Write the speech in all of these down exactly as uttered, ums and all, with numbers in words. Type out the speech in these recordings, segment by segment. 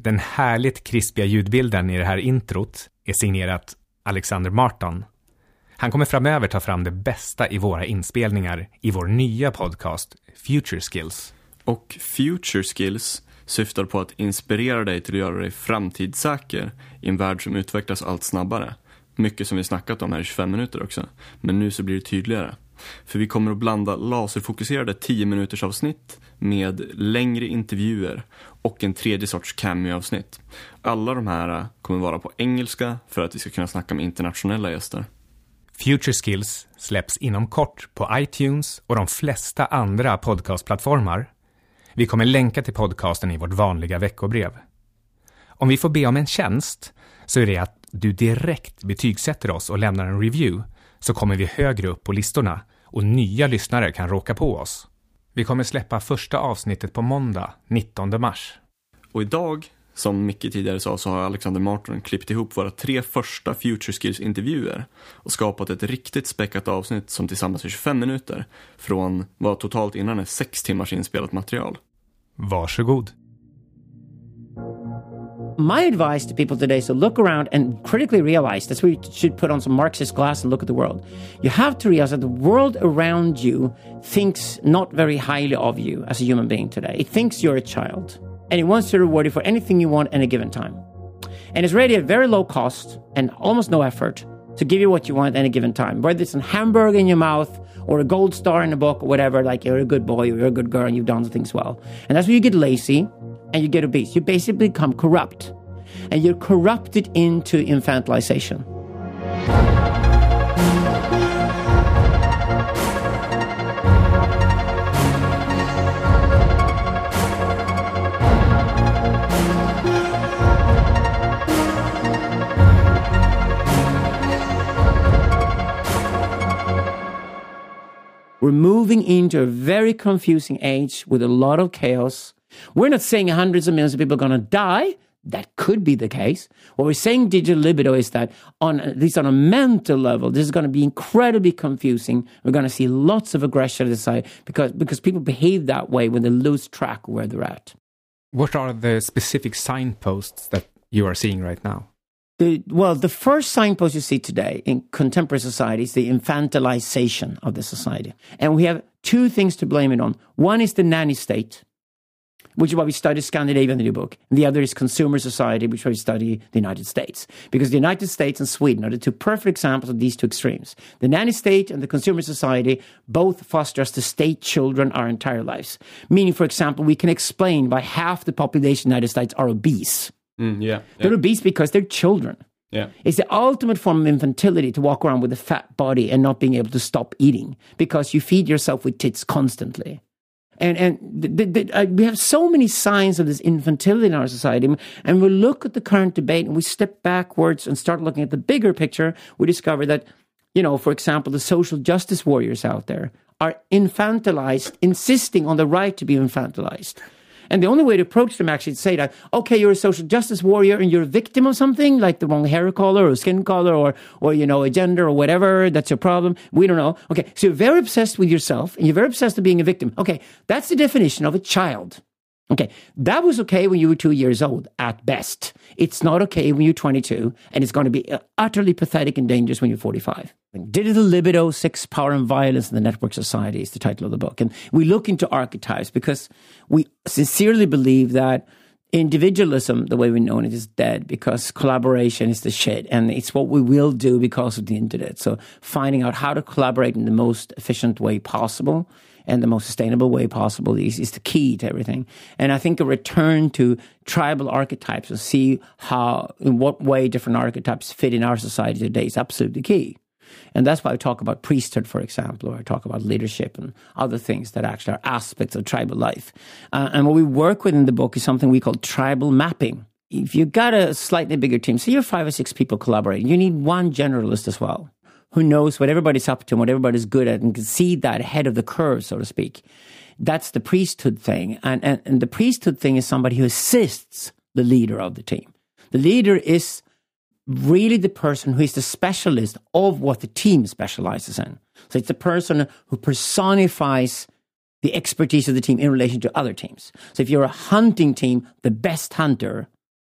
Den härligt krispiga ljudbilden i det här introt är signerat Alexander Martin. Han kommer framöver ta fram det bästa i våra inspelningar i vår nya podcast Future Skills. Och Future Skills syftar på att inspirera dig till att göra dig framtidssäker i en värld som utvecklas allt snabbare. Mycket som vi snackat om här i tjugofem minuter också. Men nu så blir det tydligare. För vi kommer att blanda laserfokuserade tio minuters avsnitt med längre intervjuer och en tredje sorts cameo-avsnitt. Alla de här kommer vara på engelska för att vi ska kunna snacka med internationella gäster. Future Skills släpps inom kort på iTunes och de flesta andra podcastplattformar. Vi kommer länka till podcasten i vårt vanliga veckobrev. Om vi får be om en tjänst så är det att du direkt betygsätter oss och lämnar en review, så kommer vi högre upp på listorna och nya lyssnare kan råka på oss. Vi kommer släppa första avsnittet på måndag, nittonde mars. Och idag, som Micke tidigare sa, så har Alexander Martin klippt ihop våra tre första Future Skills-intervjuer och skapat ett riktigt späckat avsnitt som tillsammans är tjugofem minuter från vad totalt innan är sex timmars inspelat material. Varsågod. My advice to people today is to look around and critically realize, that's where you should put on some Marxist glass and look at the world. You have to realize that the world around you thinks not very highly of you as a human being today. It thinks you're a child, and it wants to reward you for anything you want at a given time. And it's ready at very low cost and almost no effort to give you what you want at any given time. Whether it's a hamburger in your mouth or a gold star in a book or whatever, like you're a good boy or you're a good girl and you've done things well. And that's where you get lazy and you get obese. You basically become corrupt. And you're corrupted into infantilization. We're moving into a very confusing age with a lot of chaos. We're not saying hundreds of millions of people are going to die. That could be the case. What we're saying digital libido is that on at least on a mental level, this is going to be incredibly confusing. We're going to see lots of aggression in society because, because people behave that way when they lose track of where they're at. What are the specific signposts that you are seeing right now? The, well, the first signpost you see today in contemporary society is the infantilization of the society. And we have two things to blame it on. One is the nanny state, which is why we study Scandinavia in the new book. And the other is consumer society, which is why we study the United States. Because the United States and Sweden are the two perfect examples of these two extremes. The nanny state and the consumer society both foster us to state children our entire lives. Meaning, for example, we can explain why half the population of the United States are obese. Mm, yeah, yeah. They're obese because they're children. Yeah. It's the ultimate form of infantility to walk around with a fat body and not being able to stop eating because you feed yourself with tits constantly. And and the, the, uh, we have so many signs of this infantility in our society. And we look at the current debate and we step backwards and start looking at the bigger picture. We discover that, you know, for example, the social justice warriors out there are infantilized, insisting on the right to be infantilized. And the only way to approach them actually is to say that, okay, you're a social justice warrior and you're a victim of something, like the wrong hair color or skin color or, or, you know, a gender or whatever, that's your problem. We don't know. Okay, so you're very obsessed with yourself and you're very obsessed with being a victim. Okay, that's the definition of a child. Okay, that was okay when you were two years old, at best. It's not okay when you're twenty-two, and it's going to be utterly pathetic and dangerous when you're forty-five. Digital Libido, Sex, Power and Violence in the Network Society is the title of the book. And we look into archetypes because we sincerely believe that individualism, the way we know it, is dead because collaboration is the shit. And it's what we will do because of the internet. So finding out how to collaborate in the most efficient way possible and the most sustainable way possible is, is the key to everything. And I think a return to tribal archetypes and see how, in what way different archetypes fit in our society today is absolutely key. And that's why I talk about priesthood, for example, or I talk about leadership and other things that actually are aspects of tribal life. Uh, and what we work with in the book is something we call tribal mapping. If you've got a slightly bigger team, say you're five or six people collaborating, you need one generalist as well, who knows what everybody's up to and what everybody's good at and can see that ahead of the curve, so to speak. That's the priesthood thing. And, and, and the priesthood thing is somebody who assists the leader of the team. The leader is really the person who is the specialist of what the team specializes in. So it's the person who personifies the expertise of the team in relation to other teams. So if you're a hunting team, the best hunter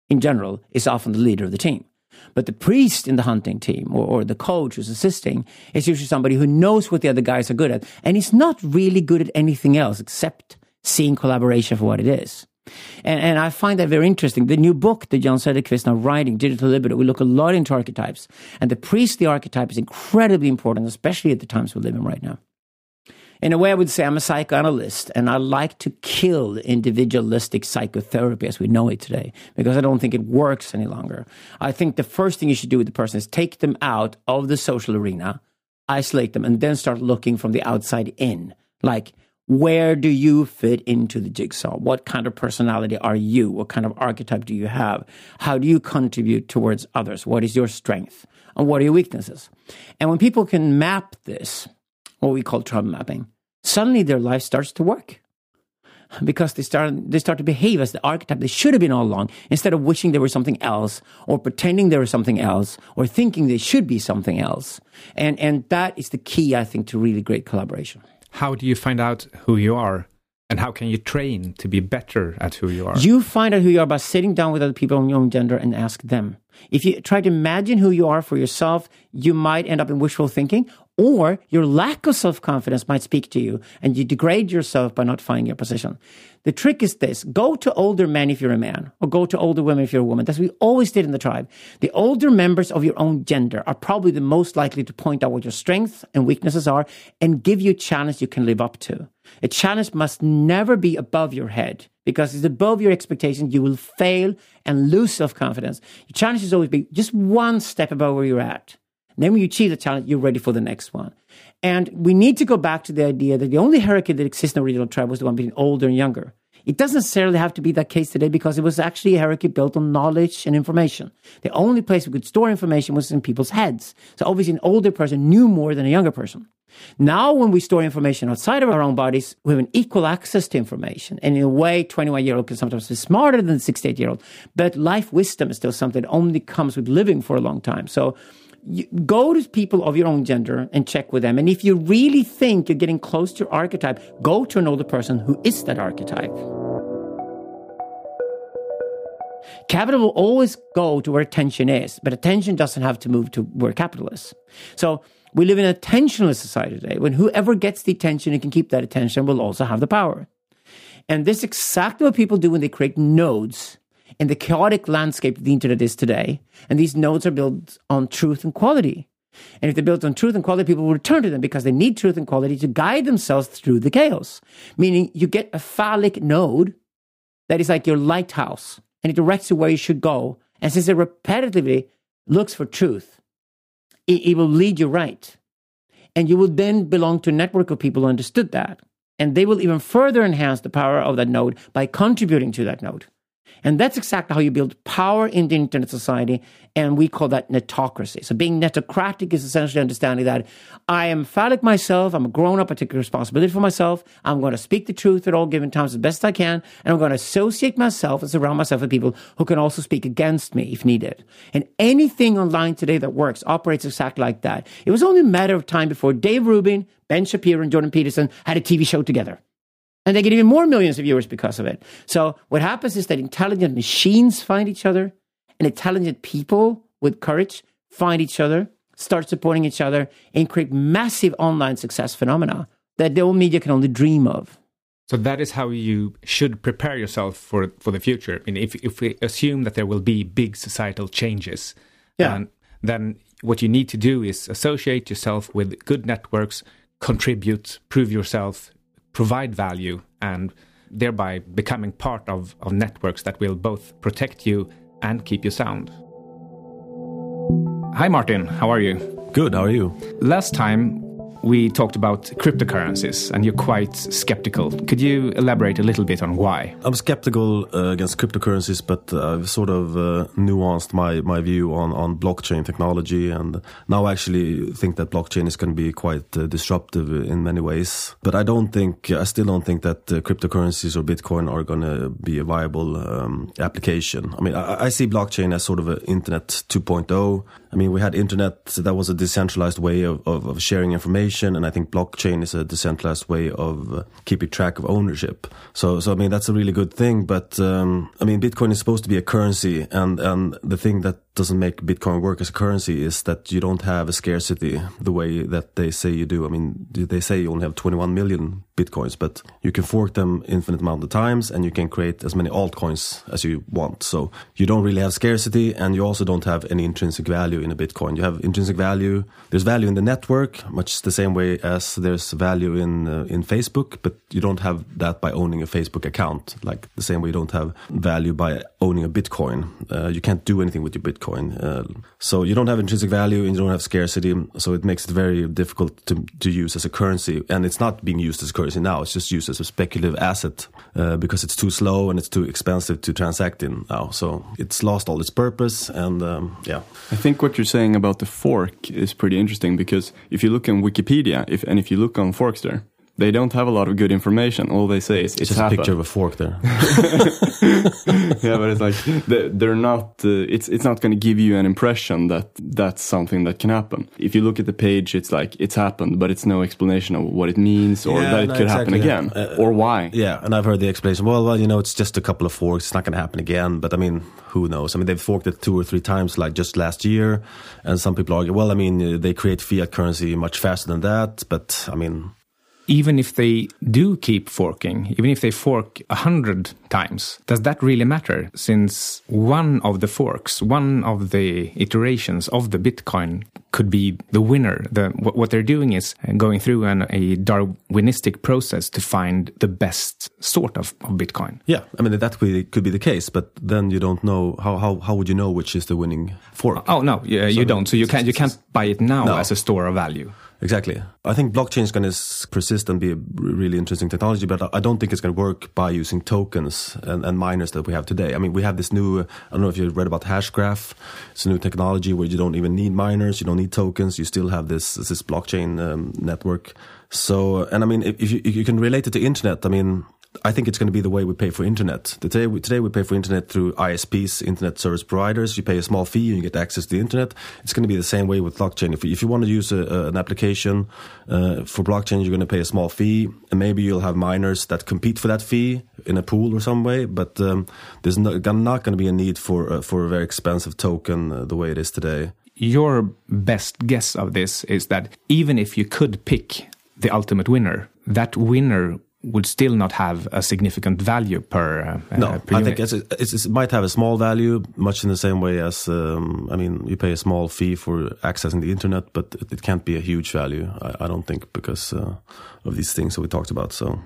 in general, is often the leader of the team. But the priest in the hunting team or, or the coach who's assisting is usually somebody who knows what the other guys are good at. And he's not really good at anything else except seeing collaboration for what it is. And, and I find that very interesting. The new book that Jan Söderqvist now writing, Digital Libido, we look a lot into archetypes. And the priestly archetype is incredibly important, especially at the times we live in right now. In a way, I would say I'm a psychoanalyst, and I like to kill individualistic psychotherapy as we know it today, because I don't think it works any longer. I think the first thing you should do with the person is take them out of the social arena, isolate them, and then start looking from the outside in. Like, where do you fit into the jigsaw? What kind of personality are you? What kind of archetype do you have? How do you contribute towards others? What is your strength? And what are your weaknesses? And when people can map this, what we call trauma mapping, suddenly their life starts to work. Because they start they start to behave as the archetype they should have been all along, instead of wishing they were something else, or pretending they were something else, or thinking they should be something else. And and that is the key, I think, to really great collaboration. How do you find out who you are? And how can you train to be better at who you are? You find out who you are by sitting down with other people on your own gender and ask them. If you try to imagine who you are for yourself, you might end up in wishful thinking, or your lack of self-confidence might speak to you, and you degrade yourself by not finding your position. The trick is this. Go to older men if you're a man, or go to older women if you're a woman. That's what we always did in the tribe. The older members of your own gender are probably the most likely to point out what your strengths and weaknesses are and give you a challenge you can live up to. A challenge must never be above your head, because if it's above your expectations, you will fail and lose self-confidence. Your challenge is always be just one step above where you're at. And then when you achieve the challenge, you're ready for the next one. And we need to go back to the idea that the only hierarchy that exists in the original tribe was the one between older and younger. It doesn't necessarily have to be that case today, because it was actually a hierarchy built on knowledge and information. The only place we could store information was in people's heads. So obviously an older person knew more than a younger person. Now when we store information outside of our own bodies, we have an equal access to information. And in a way, twenty-one-year-old can sometimes be smarter than a sixty-eight-year-old. But life wisdom is still something that only comes with living for a long time. So you go to people of your own gender and check with them. And if you really think you're getting close to your archetype, go to an older person who is that archetype. Capital will always go to where attention is, but attention doesn't have to move to where capital is. So we live in an attentionless society today, when whoever gets the attention and can keep that attention will also have the power. And this is exactly what people do when they create nodes in the chaotic landscape the internet is today. And these nodes are built on truth and quality. And if they're built on truth and quality, people will return to them because they need truth and quality to guide themselves through the chaos. Meaning you get a phallic node that is like your lighthouse, and it directs you where you should go. And since it repetitively looks for truth, it, it will lead you right. And you will then belong to a network of people who understood that. And they will even further enhance the power of that node by contributing to that node. And that's exactly how you build power in the internet society, and we call that netocracy. So being netocratic is essentially understanding that I am phallic myself, I'm a grown-up, I take responsibility for myself, I'm going to speak the truth at all given times as best I can, and I'm going to associate myself and surround myself with people who can also speak against me if needed. And anything online today that works operates exactly like that. It was only a matter of time before Dave Rubin, Ben Shapiro, and Jordan Peterson had a T V show together. And they get even more millions of viewers because of it. So what happens is that intelligent machines find each other, and intelligent people with courage find each other, start supporting each other, and create massive online success phenomena that the old media can only dream of. So that is how you should prepare yourself for for the future. I mean, if if we assume that there will be big societal changes, yeah. um, then what you need to do is associate yourself with good networks, contribute, prove yourself, provide value, and thereby becoming part of, of networks that will both protect you and keep you sound. Hi Martin, how are you? Good, how are you? Last time we talked about cryptocurrencies, and you're quite skeptical. Could you elaborate a little bit on why? I'm skeptical uh, against cryptocurrencies, but uh, I've sort of uh, nuanced my, my view on, on blockchain technology, and now I actually think that blockchain is going to be quite uh, disruptive in many ways. But I don't think, I still don't think that uh, cryptocurrencies or Bitcoin are going to be a viable um, application. I mean, I, I see blockchain as sort of an internet two point oh. I mean, we had internet that was a decentralized way of, of, of sharing information. decentralization, and I think blockchain is a decentralized way of uh, keeping track of ownership. So, so I mean, that's a really good thing. But um, I mean, Bitcoin is supposed to be a currency, and and the thing that doesn't make Bitcoin work as a currency is that you don't have a scarcity the way that they say you do. I mean, they say you only have twenty-one million Bitcoins, but you can fork them infinite amount of times, and you can create as many altcoins as you want. So you don't really have scarcity, and you also don't have any intrinsic value in a Bitcoin. You have intrinsic value. There's value in the network, much the same way as there's value in uh, in Facebook, but you don't have that by owning a Facebook account, like the same way you don't have value by owning a Bitcoin. Uh, you can't do anything with your Bitcoin. Uh, so you don't have intrinsic value and you don't have scarcity, so it makes it very difficult to, to use as a currency. And it's not being used as a currency now, it's just used as a speculative asset uh, because it's too slow and it's too expensive to transact in now. So it's lost all its purpose, and um, yeah. I think what you're saying about the fork is pretty interesting, because if you look in Wikipedia, if and if you look on Forkster, they don't have a lot of good information. All they say is it's, it's just happened. A picture of a fork there. Yeah, but it's like they're not. Uh, it's it's not going to give you an impression that that's something that can happen. If you look at the page, it's like it's happened, but it's no explanation of what it means or yeah, that it no, could exactly, happen again yeah. uh, or why. Yeah, and I've heard the explanation. Well, well, you know, it's just a couple of forks. It's not going to happen again. But I mean, who knows? I mean, they've forked it two or three times, like just last year, and some people argue, well, I mean, they create fiat currency much faster than that. But I mean. Even if they do keep forking, even if they fork a hundred times, does that really matter? Since one of the forks, one of the iterations of the Bitcoin could be the winner. The, what they're doing is going through an, a Darwinistic process to find the best sort of, of Bitcoin. Yeah, I mean, that could be the case, but then you don't know, how, how, how would you know which is the winning fork? Oh, no, yeah, you so don't. So you can't, you can't buy it now no. as a store of value. Exactly. I think blockchain is going to persist and be a really interesting technology, but I don't think it's going to work by using tokens and, and miners that we have today. I mean, we have this new, I don't know if you read about Hashgraph. It's a new technology where you don't even need miners, you don't need tokens, you still have this this blockchain um, network. So, and I mean, if you, if you can relate it to internet, I mean, I think it's going to be the way we pay for internet. Today we, today we pay for internet through I S Ps, internet service providers. You pay a small fee and you get access to the internet. It's going to be the same way with blockchain. If you, if you want to use a, a, an application uh, for blockchain, you're going to pay a small fee, and maybe you'll have miners that compete for that fee in a pool or some way. But um, there's no, not going to be a need for uh, for a very expensive token uh, the way it is today. Your best guess of this is that even if you could pick the ultimate winner, that winner would still not have a significant value per uh, no per I unit. think it's, it's, it might have a small value, much in the same way as um, I mean, you pay a small fee for accessing the internet, but it, it can't be a huge value, I, I don't think, because uh, of these things that we talked about. So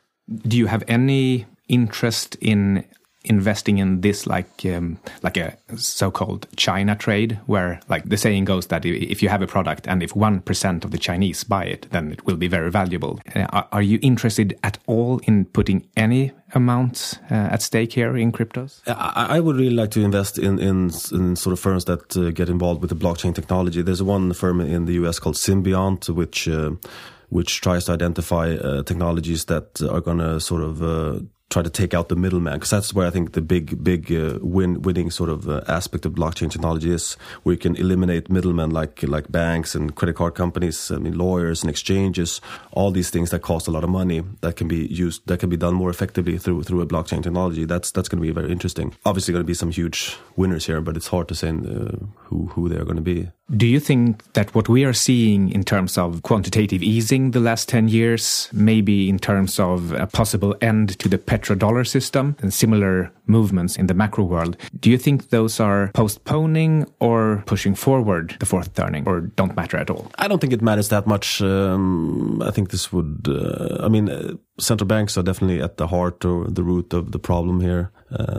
do you have any interest in investing in this, like um, like a so-called China trade, where, like the saying goes, that if you have a product and if one percent of the Chinese buy it, then it will be very valuable. Uh, are, are you interested at all in putting any amounts uh, at stake here in cryptos? I, I would really like to invest in, in, in sort of firms that uh, get involved with the blockchain technology. There's one firm in the U S called Symbiont, which uh, which tries to identify uh, technologies that are going to sort of uh, try to take out the middleman, because that's where I think the big, big uh, win, winning sort of uh, aspect of blockchain technology is, where you can eliminate middlemen like like banks and credit card companies, I mean lawyers and exchanges, all these things that cost a lot of money that can be used, that can be done more effectively through through a blockchain technology. That's that's going to be very interesting. Obviously, going to be some huge winners here, but it's hard to say uh, who who they are going to be. Do you think that what we are seeing in terms of quantitative easing the last ten years, maybe in terms of a possible end to the petrodollar system and similar movements in the macro world, do you think those are postponing or pushing forward the fourth turning, or don't matter at all? I don't think it matters that much. Um, I think this would, uh, I mean, uh, central banks are definitely at the heart or the root of the problem here,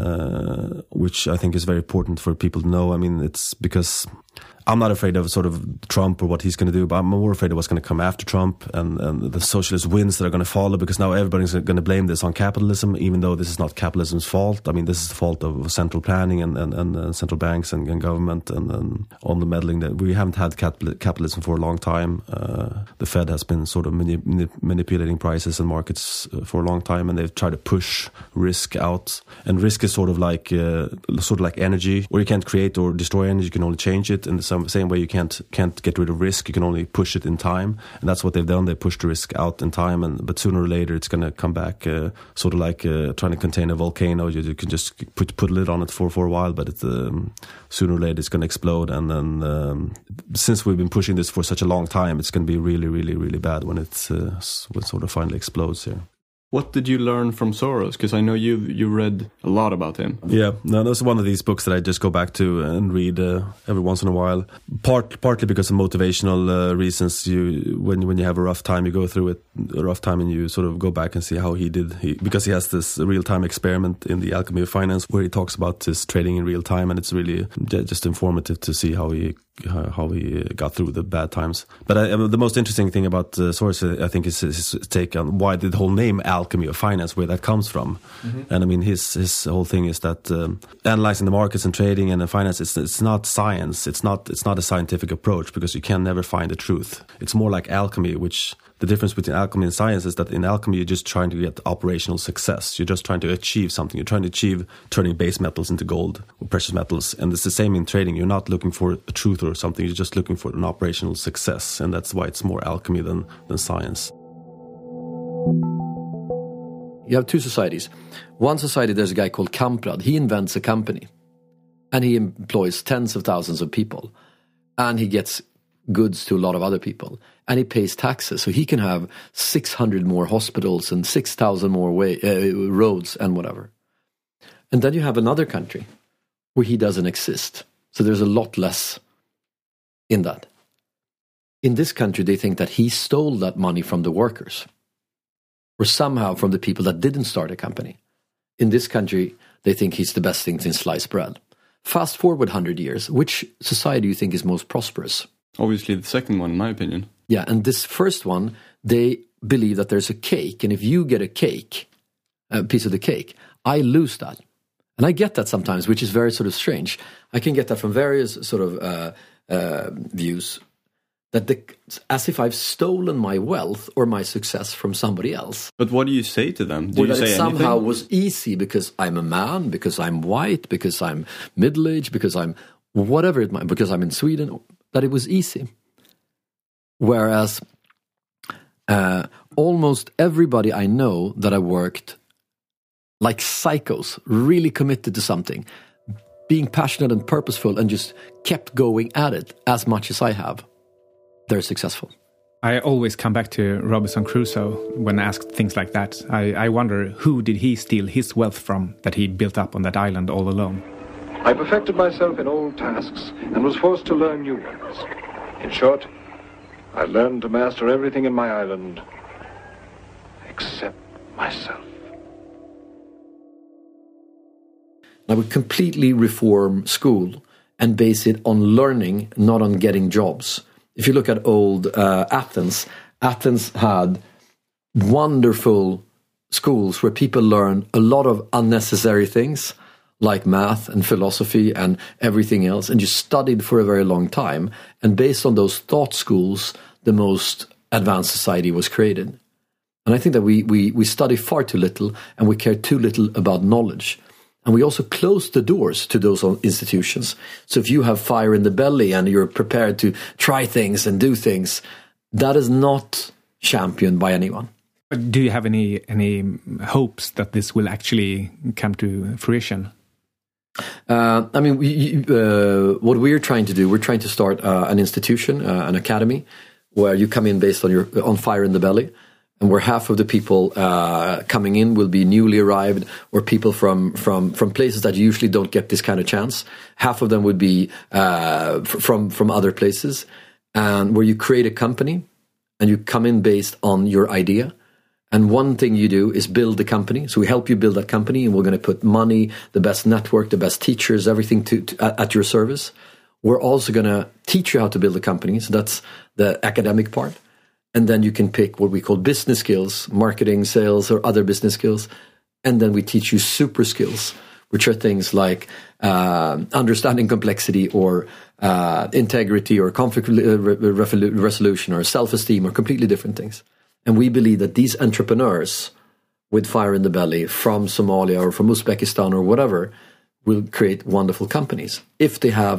uh, which I think is very important for people to know. I mean, it's because I'm not afraid of sort of Trump or what he's going to do, but I'm more afraid of what's going to come after Trump and, and the socialist winds that are going to follow, because now everybody's going to blame this on capitalism, even though this is not capitalism's fault. I mean, this is the fault of central planning and, and, and uh, central banks and, and government and, and all the meddling that we haven't had capital, capitalism for a long time. Uh, the Fed has been sort of mani- manip- manipulating prices and markets uh, for a long time, and they've tried to push risk out. And risk is sort of like uh, sort of like energy, where you can't create or destroy energy, you can only change it. And so same, same way you can't can't get rid of risk, you can only push it in time, and that's what they've done. They pushed the risk out in time, and but sooner or later it's going to come back, uh, sort of like uh, trying to contain a volcano. You, you can just put put a lid on it for, for a while, but it's, um, sooner or later it's going to explode. And then um, since we've been pushing this for such a long time, it's going to be really, really, really bad when it's uh, when it sort of finally explodes here. What did you learn from Soros? Because I know you you read a lot about him. Yeah, no, that's one of these books that I just go back to and read uh, every once in a while. Part partly because of motivational uh, reasons. You when when you have a rough time, you go through it a rough time, and you sort of go back and see how he did. He, because he has this real time experiment in the Alchemy of Finance where he talks about his trading in real time, and it's really just informative to see how he. how he got through the bad times. But I, the most interesting thing about uh, Soros, I think, is his take on why the whole name Alchemy of Finance, where that comes from. Mm-hmm. And I mean, his his whole thing is that um, analyzing the markets and trading and the finance, it's it's not science. It's not it's not a scientific approach, because you can never find the truth. It's more like alchemy, which the difference between alchemy and science is that in alchemy you're just trying to get operational success. You're just trying to achieve something. You're trying to achieve turning base metals into gold or precious metals. And it's the same in trading. You're not looking for a truth or something. You're just looking for an operational success. And that's why it's more alchemy than, than science. You have two societies. One society, there's a guy called Kamprad. He invents a company. And he employs tens of thousands of people. And he gets goods to a lot of other people, and he pays taxes, so he can have six hundred more hospitals and six thousand more way, uh, roads and whatever. And then you have another country where he doesn't exist, so there's a lot less in that. In this country, they think that he stole that money from the workers, or somehow from the people that didn't start a company. In this country, they think he's the best thing since sliced bread. Fast forward one hundred years, which society do you think is most prosperous? Obviously the second one, in my opinion. Yeah, and this first one, they believe that there's a cake, and if you get a cake, a piece of the cake, I lose that. And I get that sometimes, which is very sort of strange. I can get that from various sort of uh, uh, views, that the, as if I've stolen my wealth or my success from somebody else. But what do you say to them? Do or you that say it somehow anything? was easy because I'm a man, because I'm white, because I'm middle-aged, because I'm whatever it might, because I'm in Sweden, that it was easy. Whereas uh, almost everybody I know that I worked like psychos, really committed to something, being passionate and purposeful, and just kept going at it as much as I have, they're successful. I always come back to Robinson Crusoe when asked things like that. I, I wonder, who did he steal his wealth from that he built up on that island all alone? I perfected myself in old tasks and was forced to learn new ones. In short, I learned to master everything in my island except myself. I would completely reform school and base it on learning, not on getting jobs. If you look at old uh, Athens, Athens had wonderful schools where people learn a lot of unnecessary things, like math and philosophy and everything else, and you studied for a very long time. And based on those thought schools, the most advanced society was created. And I think that we, we, we study far too little, and we care too little about knowledge. And we also close the doors to those institutions. So if you have fire in the belly and you're prepared to try things and do things, that is not championed by anyone. Do you have any any hopes that this will actually come to fruition? Uh, I mean, we, uh, what we're trying to do, we're trying to start uh, an institution, uh, an academy, where you come in based on your on fire in the belly, and where half of the people uh, coming in will be newly arrived or people from from from places that usually don't get this kind of chance. Half of them would be uh, f- from from other places, and where you create a company and you come in based on your idea. And one thing you do is build the company. So we help you build that company, and we're going to put money, the best network, the best teachers, everything to, to at your service. We're also going to teach you how to build a company. So that's the academic part. And then you can pick what we call business skills, marketing, sales, or other business skills. And then we teach you super skills, which are things like uh, understanding complexity or uh, integrity or conflict resolution or self-esteem, or completely different things. And we believe that these entrepreneurs with fire in the belly from Somalia or from Uzbekistan or whatever will create wonderful companies if they have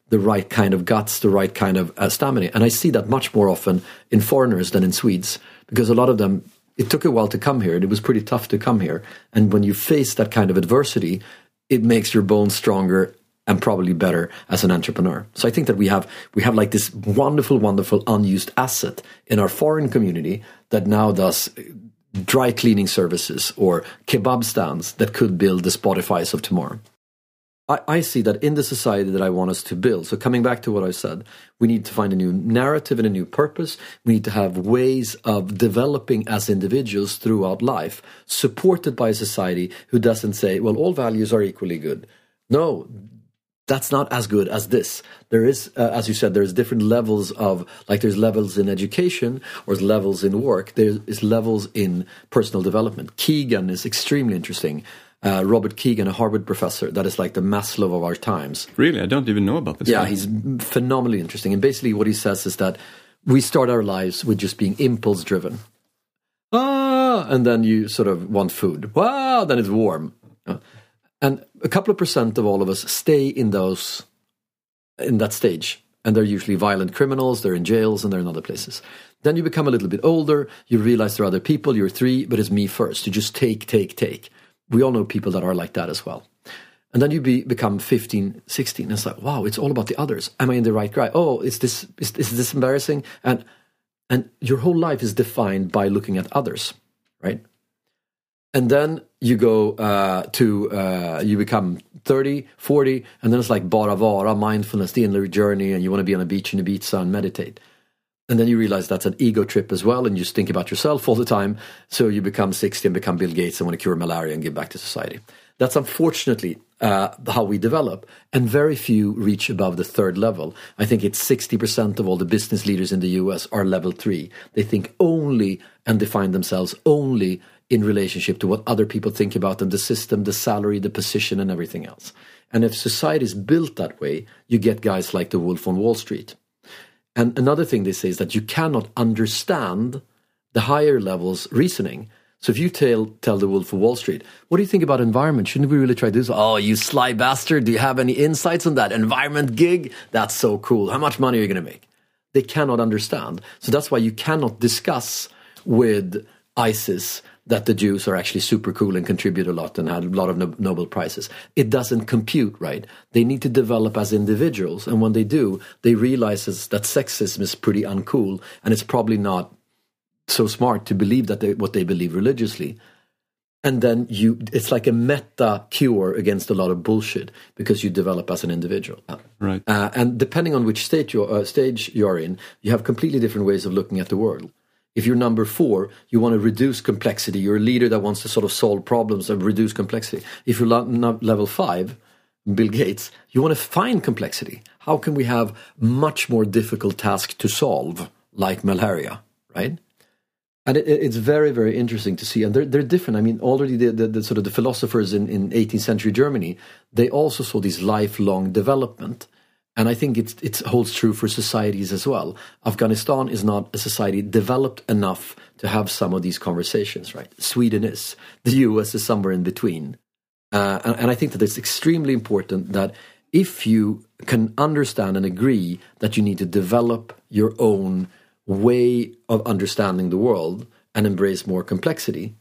the right kind of guts, the right kind of uh, stamina. And I see that much more often in foreigners than in Swedes, because a lot of them, it took a while to come here, and it was pretty tough to come here. And when you face that kind of adversity, it makes your bones stronger and probably better as an entrepreneur. So I think that we have we have like this wonderful, wonderful unused asset in our foreign community that now does dry cleaning services or kebab stands that could build the Spotifys of tomorrow. I, I see that in the society that I want us to build. So coming back to what I said, we need to find a new narrative and a new purpose. We need to have ways of developing as individuals throughout life, supported by a society who doesn't say, well, all values are equally good. No, that's not as good as this. There is, uh, as you said, there's different levels of, like there's levels in education or levels in work. There is levels in personal development. Keegan is extremely interesting. Uh, Robert Keegan, a Harvard professor, that is like the Maslow of our times. Really? I don't even know about this. Yeah, guy. he's phenomenally interesting. And basically what he says is that we start our lives with just being impulse driven. Ah, and then you sort of want food. Wow, then it's warm. Uh, And a couple of percent of all of us stay in those, in that stage. And they're usually violent criminals, they're in jails, and they're in other places. Then you become a little bit older, you realize there are other people, you're three, but it's me first. You just take, take, take. We all know people that are like that as well. And then you be, become fifteen, sixteen, and it's like, wow, it's all about the others. Am I in the right guy? Oh, is this, is, is this embarrassing? And, and your whole life is defined by looking at others, right? And then you go uh, to, uh, you become thirty, forty, and then it's like bara vara, mindfulness, the inner journey, and you want to be on a beach in Ibiza and meditate. And then you realize that's an ego trip as well, and you just think about yourself all the time. So you become sixty and become Bill Gates and want to cure malaria and give back to society. That's unfortunately uh, how we develop, and very few reach above the third level. I think it's sixty percent of all the business leaders in the U S are level three. They think only and define themselves only in relationship to what other people think about them, the system, the salary, the position, and everything else. And if society is built that way, you get guys like the Wolf on Wall Street. And another thing they say is that you cannot understand the higher levels reasoning. So if you tell tell the Wolf of Wall Street, what do you think about environment? Shouldn't we really try this? Oh, you sly bastard. Do you have any insights on that environment gig? That's so cool. How much money are you going to make? They cannot understand. So that's why you cannot discuss with ISIS that the Jews are actually super cool and contribute a lot and had a lot of no- Nobel Prizes. It doesn't compute, right? They need to develop as individuals. And when they do, they realize that sexism is pretty uncool. And it's probably not so smart to believe that they, what they believe religiously. And then you, it's like a meta cure against a lot of bullshit because you develop as an individual. Right. Uh, and depending on which state you're, uh, stage you're in, you have completely different ways of looking at the world. If you're number four, you want to reduce complexity. You're a leader that wants to sort of solve problems and reduce complexity. If you're lo- level five, Bill Gates, you want to find complexity. How can we have much more difficult tasks to solve, like malaria, right? And it, it's very, very interesting to see. And they're, they're different. I mean, already the, the, the sort of the philosophers in, in eighteenth century Germany, they also saw this lifelong development. And I think it's, it holds true for societies as well. Afghanistan is not a society developed enough to have some of these conversations, right? Sweden is. The U S is somewhere in between. Uh, and, and I think that it's extremely important that if you can understand and agree that you need to develop your own way of understanding the world and embrace more complexity,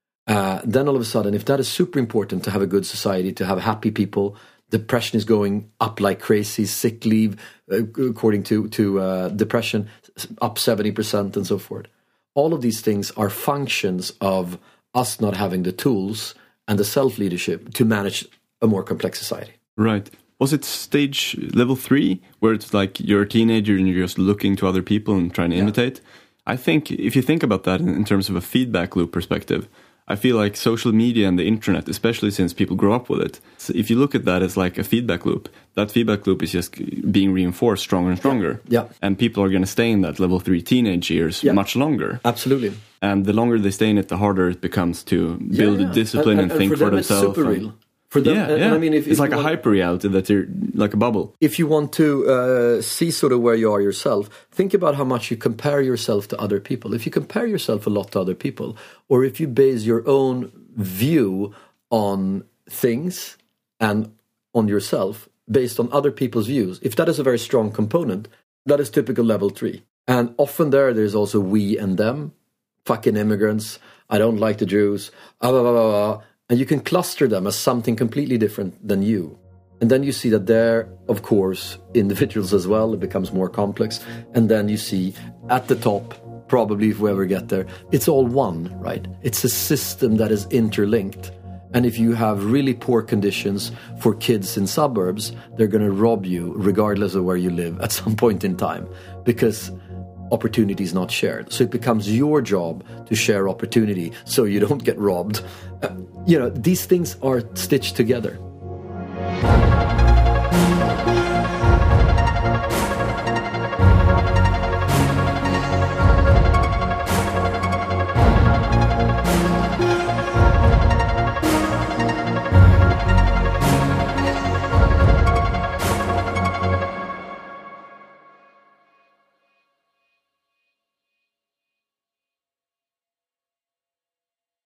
uh, then all of a sudden, if that is super important to have a good society, to have happy people, depression is going up like crazy, sick leave, uh, according to, to uh, depression, up seventy percent and so forth. All of these things are functions of us not having the tools and the self-leadership to manage a more complex society. Right. Was it stage level three, where it's like you're a teenager and you're just looking to other people and trying to yeah. imitate? I think if you think about that in, in terms of a feedback loop perspective, I feel like social media and the internet, especially since people grow up with it, so if you look at that as like a feedback loop, that feedback loop is just being reinforced stronger and stronger. Yeah. yeah. And people are going to stay in that level three teenage years yeah. much longer. Absolutely. And the longer they stay in it, the harder it becomes to build yeah, yeah. a discipline and, and, and, and think for, for them themselves. It's super real. For them, yeah, and, yeah. and I mean, if, it's if like a want, hyper reality that you're like a bubble. If you want to uh, see sort of where you are yourself, think about how much you compare yourself to other people. If you compare yourself a lot to other people, or if you base your own view on things and on yourself based on other people's views, if that is a very strong component, that is typical level three. And often there, there's also we and them, fucking immigrants, I don't like the Jews, blah, blah, blah, blah. And you can cluster them as something completely different than you. And then you see that they're, of course, individuals as well. It becomes more complex. And then you see at the top, probably if we ever get there, it's all one, right? It's a system that is interlinked. And if you have really poor conditions for kids in suburbs, they're going to rob you regardless of where you live at some point in time, because opportunity is not shared. So it becomes your job to share opportunity so you don't get robbed. Uh, you know, these things are stitched together.